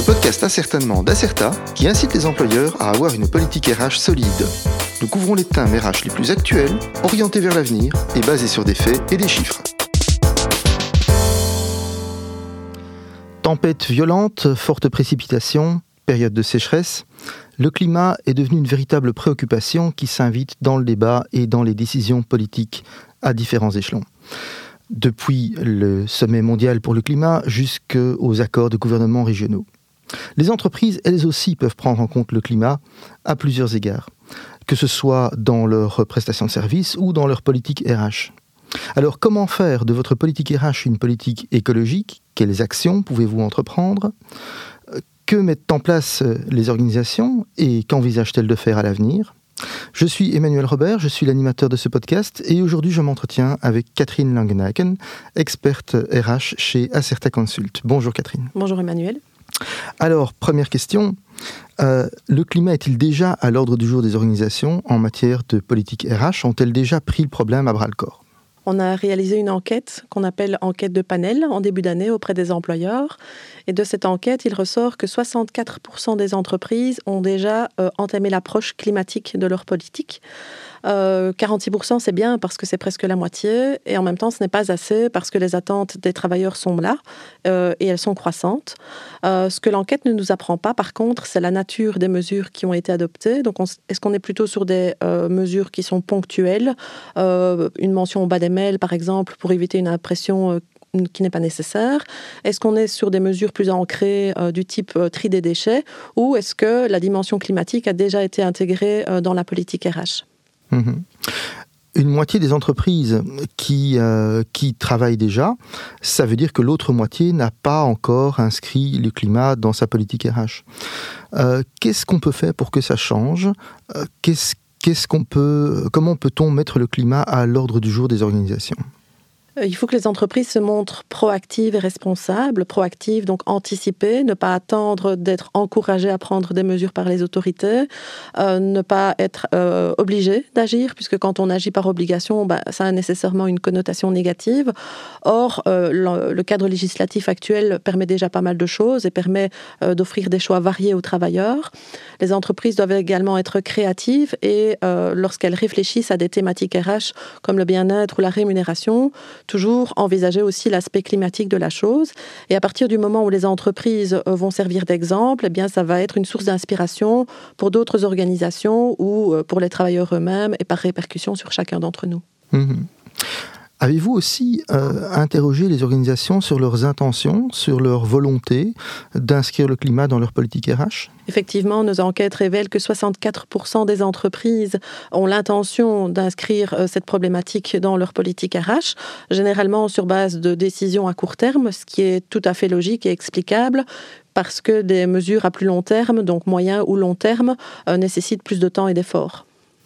podcast Ascertainement d'Acerta qui incite les employeurs à avoir une politique RH solide. Nous couvrons les thèmes RH les plus actuels, orientés vers l'avenir et basés sur des faits et des chiffres. Tempêtes violentes, fortes précipitations, période de sécheresse, le climat est devenu une véritable préoccupation qui s'invite dans le débat et dans les décisions politiques à différents échelons. Depuis le sommet mondial pour le climat jusqu'aux accords de gouvernements régionaux. Les entreprises, elles aussi, peuvent prendre en compte le climat à plusieurs égards, que ce soit dans leurs prestations de services ou dans leur politique RH. Alors, comment faire de votre politique RH une politique écologique ? Quelles actions pouvez-vous entreprendre ? Que mettent en place les organisations et qu'envisagent-elles de faire à l'avenir ? Je suis Emmanuel Robert, je suis l'animateur de ce podcast et aujourd'hui je m'entretiens avec Catherine Langenaken, experte RH chez Acerta Consult. Bonjour Catherine. Bonjour Emmanuel. Alors, première question, le climat est-il déjà à l'ordre du jour des organisations en matière de politique RH ? Ont-elles déjà pris le problème à bras-le-corps ? On a réalisé une enquête qu'on appelle enquête de panel en début d'année auprès des employeurs. Et de cette enquête, il ressort que 64% des entreprises ont déjà entamé l'approche climatique de leur politique. 46% c'est bien parce que c'est presque la moitié et en même temps ce n'est pas assez parce que les attentes des travailleurs sont là et elles sont croissantes. Ce que l'enquête ne nous apprend pas par contre, c'est la nature des mesures qui ont été adoptées. Donc est-ce qu'on est plutôt sur des mesures qui sont ponctuelles, une mention au bas des mails par exemple pour éviter une impression qui n'est pas nécessaire? Est-ce qu'on est sur des mesures plus ancrées du type tri des déchets ou est-ce que la dimension climatique a déjà été intégrée dans la politique RH? Une moitié des entreprises qui travaillent déjà, ça veut dire que l'autre moitié n'a pas encore inscrit le climat dans sa politique RH. Qu'est-ce qu'on peut faire pour que ça change ? Comment peut-on mettre le climat à l'ordre du jour des organisations ? Il faut que les entreprises se montrent proactives et responsables. Proactives, donc anticiper, ne pas attendre d'être encouragées à prendre des mesures par les autorités, ne pas être obligées d'agir, puisque quand on agit par obligation, ça a nécessairement une connotation négative. Or, le cadre législatif actuel permet déjà pas mal de choses et permet d'offrir des choix variés aux travailleurs. Les entreprises doivent également être créatives et lorsqu'elles réfléchissent à des thématiques RH comme le bien-être ou la rémunération, toujours envisager aussi l'aspect climatique de la chose. Et à partir du moment où les entreprises vont servir d'exemple, eh bien, ça va être une source d'inspiration pour d'autres organisations ou pour les travailleurs eux-mêmes et par répercussion sur chacun d'entre nous. Avez-vous aussi interrogé les organisations sur leurs intentions, sur leur volonté d'inscrire le climat dans leur politique RH ? Effectivement, nos enquêtes révèlent que 64% des entreprises ont l'intention d'inscrire cette problématique dans leur politique RH, généralement sur base de décisions à court terme, ce qui est tout à fait logique et explicable, parce que des mesures à plus long terme, donc moyen ou long terme, nécessitent plus de temps et d'efforts.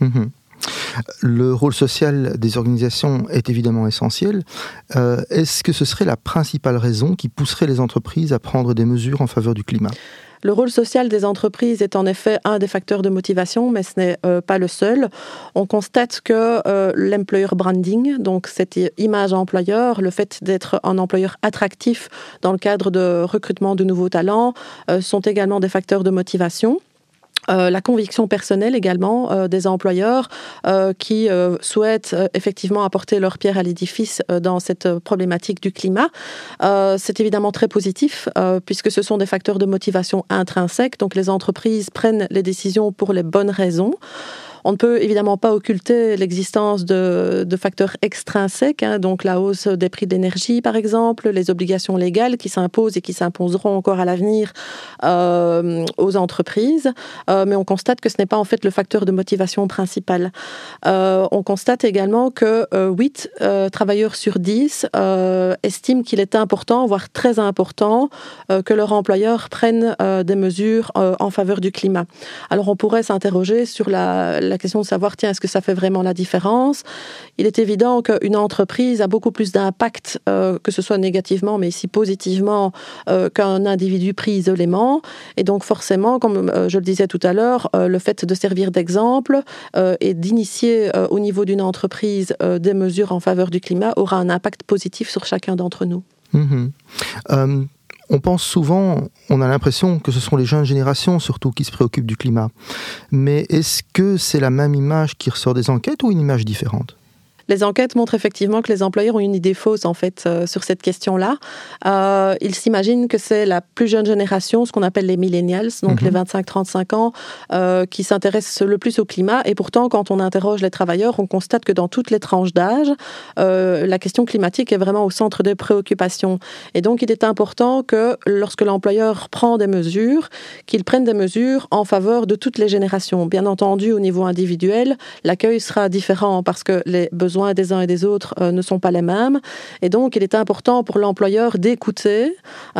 Le rôle social des organisations est évidemment essentiel. Est-ce que ce serait la principale raison qui pousserait les entreprises à prendre des mesures en faveur du climat ? Le rôle social des entreprises est en effet un des facteurs de motivation, mais ce n'est pas le seul. On constate que l'employer branding, donc cette image employeur, le fait d'être un employeur attractif dans le cadre de recrutement de nouveaux talents, sont également des facteurs de motivation. La conviction personnelle également des employeurs qui souhaitent effectivement apporter leur pierre à l'édifice dans cette problématique du climat. C'est évidemment très positif puisque ce sont des facteurs de motivation intrinsèques, donc les entreprises prennent les décisions pour les bonnes raisons. On ne peut évidemment pas occulter l'existence de facteurs extrinsèques, donc la hausse des prix de l'énergie par exemple, les obligations légales qui s'imposent et qui s'imposeront encore à l'avenir aux entreprises, mais on constate que ce n'est pas en fait le facteur de motivation principal. On constate également que 8 travailleurs sur 10 estiment qu'il est important, voire très important, que leur employeur prenne des mesures en faveur du climat. Alors on pourrait s'interroger sur la question de savoir, est-ce que ça fait vraiment la différence ? Il est évident qu'une entreprise a beaucoup plus d'impact, que ce soit négativement, mais ici positivement, qu'un individu pris isolément. Et donc forcément, comme je le disais tout à l'heure, le fait de servir d'exemple et d'initier au niveau d'une entreprise des mesures en faveur du climat aura un impact positif sur chacun d'entre nous. On pense souvent, on a l'impression que ce sont les jeunes générations surtout qui se préoccupent du climat. Mais est-ce que c'est la même image qui ressort des enquêtes ou une image différente ? Les enquêtes montrent effectivement que les employeurs ont une idée fausse en fait sur cette question-là. Ils s'imaginent que c'est la plus jeune génération, ce qu'on appelle les millennials, donc les 25-35 ans, qui s'intéressent le plus au climat. Et pourtant, quand on interroge les travailleurs, on constate que dans toutes les tranches d'âge, la question climatique est vraiment au centre des préoccupations. Et donc, il est important que lorsque l'employeur prend des mesures, qu'il prenne des mesures en faveur de toutes les générations. Bien entendu, au niveau individuel, l'accueil sera différent parce que les besoins des uns et des autres ne sont pas les mêmes. Et donc, il est important pour l'employeur d'écouter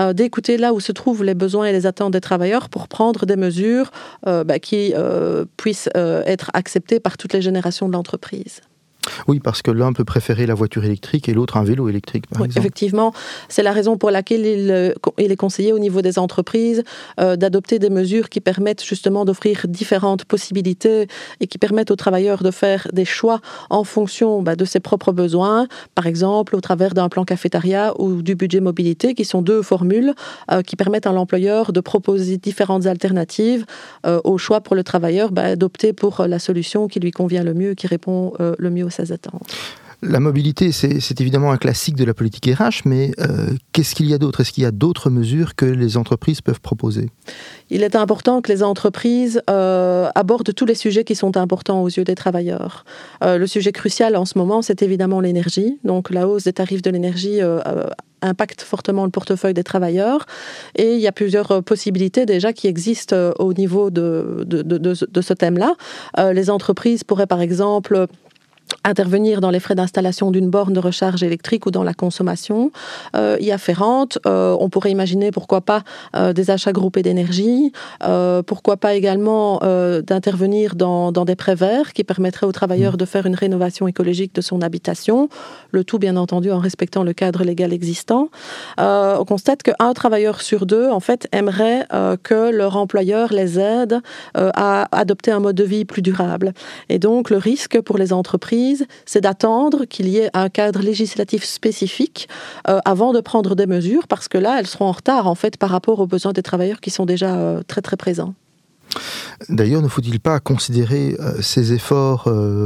là où se trouvent les besoins et les attentes des travailleurs pour prendre des mesures qui puissent être acceptées par toutes les générations de l'entreprise. Oui, parce que l'un peut préférer la voiture électrique et l'autre un vélo électrique, par exemple. Effectivement, c'est la raison pour laquelle il est conseillé au niveau des entreprises d'adopter des mesures qui permettent justement d'offrir différentes possibilités et qui permettent aux travailleurs de faire des choix en fonction de ses propres besoins, par exemple au travers d'un plan cafétéria ou du budget mobilité, qui sont deux formules qui permettent à l'employeur de proposer différentes alternatives au choix pour le travailleur d'opter pour la solution qui lui convient le mieux, qui répond le mieux aux ses attentes. La mobilité, c'est évidemment un classique de la politique RH, mais qu'est-ce qu'il y a d'autre ? Est-ce qu'il y a d'autres mesures que les entreprises peuvent proposer ? Il est important que les entreprises abordent tous les sujets qui sont importants aux yeux des travailleurs. Le sujet crucial en ce moment, c'est évidemment l'énergie. Donc la hausse des tarifs de l'énergie impacte fortement le portefeuille des travailleurs. Et il y a plusieurs possibilités déjà qui existent au niveau de ce thème-là. Les entreprises pourraient par exemple intervenir dans les frais d'installation d'une borne de recharge électrique ou dans la consommation y afférente. On pourrait imaginer, pourquoi pas, des achats groupés d'énergie, pourquoi pas également d'intervenir dans des prêts verts qui permettraient aux travailleurs de faire une rénovation écologique de son habitation, le tout bien entendu en respectant le cadre légal existant. On constate qu'un travailleur sur deux, en fait, aimerait que leur employeur les aide à adopter un mode de vie plus durable. Et donc, le risque pour les entreprises, c'est d'attendre qu'il y ait un cadre législatif spécifique avant de prendre des mesures, parce que là, elles seront en retard en fait par rapport aux besoins des travailleurs qui sont déjà très très présents. D'ailleurs, ne faut-il pas considérer ces efforts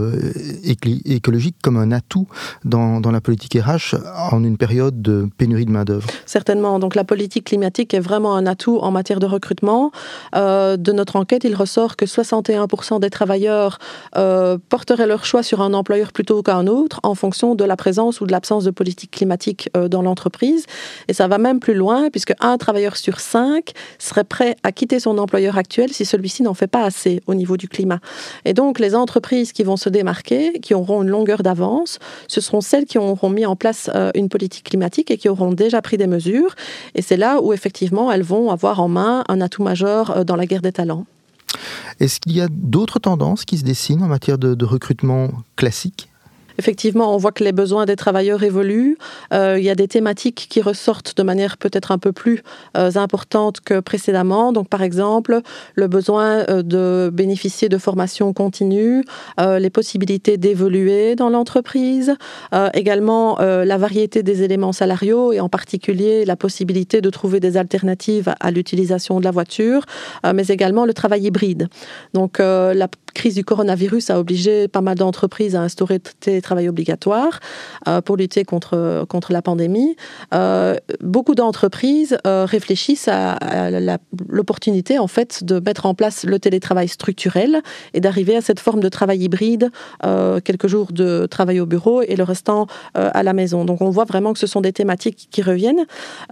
écologiques comme un atout dans la politique RH en une période de pénurie de main-d'œuvre ? Certainement. Donc la politique climatique est vraiment un atout en matière de recrutement. De notre enquête, il ressort que 61% des travailleurs porteraient leur choix sur un employeur plutôt qu'un autre en fonction de la présence ou de l'absence de politique climatique dans l'entreprise. Et ça va même plus loin, puisque un travailleur sur 5 serait prêt à quitter son employeur actuel si celui-ci n'en fait pas assez au niveau du climat. Et donc, les entreprises qui vont se démarquer, qui auront une longueur d'avance, ce seront celles qui auront mis en place une politique climatique et qui auront déjà pris des mesures. Et c'est là où, effectivement, elles vont avoir en main un atout majeur dans la guerre des talents. Est-ce qu'il y a d'autres tendances qui se dessinent en matière de recrutement classique ? Effectivement, on voit que les besoins des travailleurs évoluent. Il y a des thématiques qui ressortent de manière peut-être un peu plus importante que précédemment. Donc, par exemple, le besoin de bénéficier de formations continues, les possibilités d'évoluer dans l'entreprise, également la variété des éléments salariaux et en particulier la possibilité de trouver des alternatives à l'utilisation de la voiture, mais également le travail hybride. Donc, la crise du coronavirus a obligé pas mal d'entreprises à instaurer télétravail obligatoire pour lutter contre la pandémie. Beaucoup d'entreprises réfléchissent à l'opportunité en fait de mettre en place le télétravail structurel et d'arriver à cette forme de travail hybride, quelques jours de travail au bureau et le restant à la maison. Donc on voit vraiment que ce sont des thématiques qui reviennent.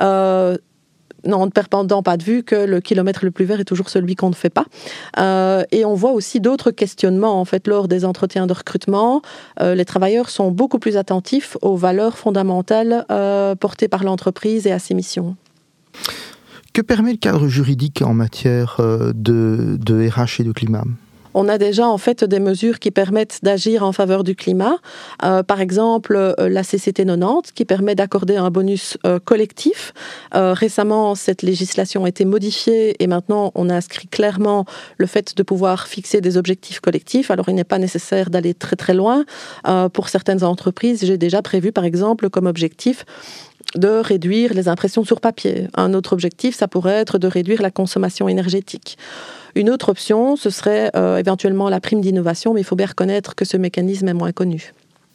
En ne perdant pas de vue que le kilomètre le plus vert est toujours celui qu'on ne fait pas. Et on voit aussi d'autres questionnements en fait, lors des entretiens de recrutement. Les travailleurs sont beaucoup plus attentifs aux valeurs fondamentales portées par l'entreprise et à ses missions. Que permet le cadre juridique en matière de RH et de climat ? On a déjà en fait des mesures qui permettent d'agir en faveur du climat. Par exemple, la CCT 90 qui permet d'accorder un bonus collectif. Récemment, cette législation a été modifiée et maintenant on a inscrit clairement le fait de pouvoir fixer des objectifs collectifs. Alors il n'est pas nécessaire d'aller très très loin. Pour certaines entreprises, j'ai déjà prévu par exemple comme objectif de réduire les impressions sur papier. Un autre objectif, ça pourrait être de réduire la consommation énergétique. Une autre option, ce serait éventuellement la prime d'innovation, mais il faut bien reconnaître que ce mécanisme est moins connu.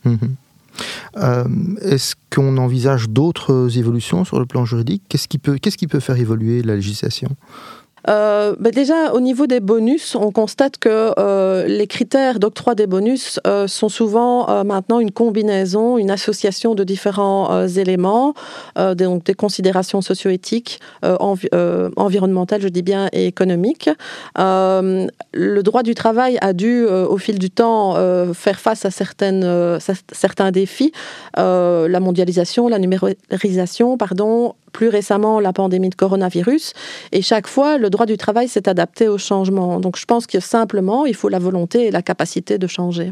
Est-ce qu'on envisage d'autres évolutions sur le plan juridique ? Qu'est-ce qui peut faire évoluer la législation ? Déjà, au niveau des bonus, on constate que les critères d'octroi des bonus sont souvent maintenant une combinaison, une association de différents éléments, donc des considérations socio-éthiques, environnementales, je dis bien, et économiques. Le droit du travail a dû, au fil du temps, faire face à certains défis. La mondialisation, la numérisation, plus récemment la pandémie de coronavirus, et chaque fois le droit du travail s'est adapté au changement. Donc je pense que simplement il faut la volonté et la capacité de changer.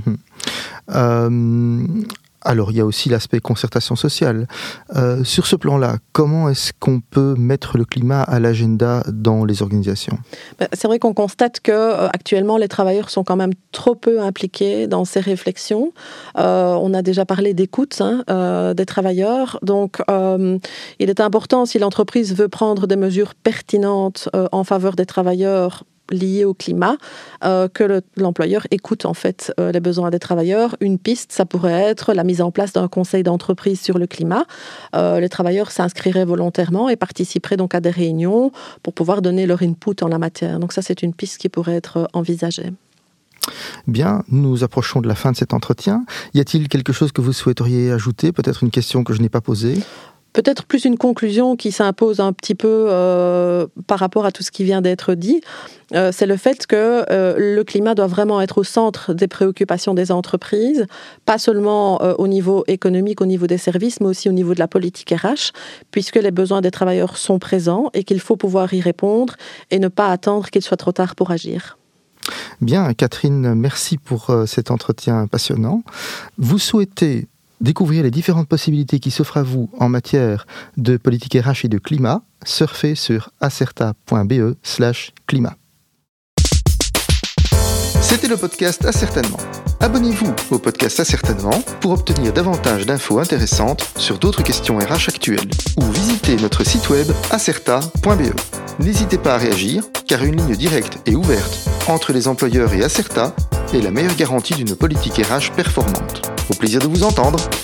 Alors il y a aussi l'aspect concertation sociale. Sur ce plan-là, comment est-ce qu'on peut mettre le climat à l'agenda dans les organisations ? C'est vrai qu'on constate que actuellement les travailleurs sont quand même trop peu impliqués dans ces réflexions. On a déjà parlé d'écoute des travailleurs. Donc il est important, si l'entreprise veut prendre des mesures pertinentes en faveur des travailleurs liées au climat, que l'employeur écoute en fait les besoins des travailleurs. Une piste, ça pourrait être la mise en place d'un conseil d'entreprise sur le climat. Les travailleurs s'inscriraient volontairement et participeraient donc à des réunions pour pouvoir donner leur input en la matière. Donc ça, c'est une piste qui pourrait être envisagée. Bien, nous approchons de la fin de cet entretien. Y a-t-il quelque chose que vous souhaiteriez ajouter ? Peut-être une question que je n'ai pas posée ? Peut-être plus une conclusion qui s'impose un petit peu par rapport à tout ce qui vient d'être dit. C'est le fait que le climat doit vraiment être au centre des préoccupations des entreprises, pas seulement au niveau économique, au niveau des services, mais aussi au niveau de la politique RH, puisque les besoins des travailleurs sont présents et qu'il faut pouvoir y répondre et ne pas attendre qu'il soit trop tard pour agir. Bien, Catherine, merci pour cet entretien passionnant. Vous souhaitez découvrir les différentes possibilités qui s'offrent à vous en matière de politique RH et de climat, surfez sur acerta.be/climat. C'était le podcast Ascertainement. Abonnez-vous au podcast Ascertainement pour obtenir davantage d'infos intéressantes sur d'autres questions RH actuelles ou visitez notre site web acerta.be. N'hésitez pas à réagir car une ligne directe et ouverte entre les employeurs et Acerta est la meilleure garantie d'une politique RH performante. Au plaisir de vous entendre.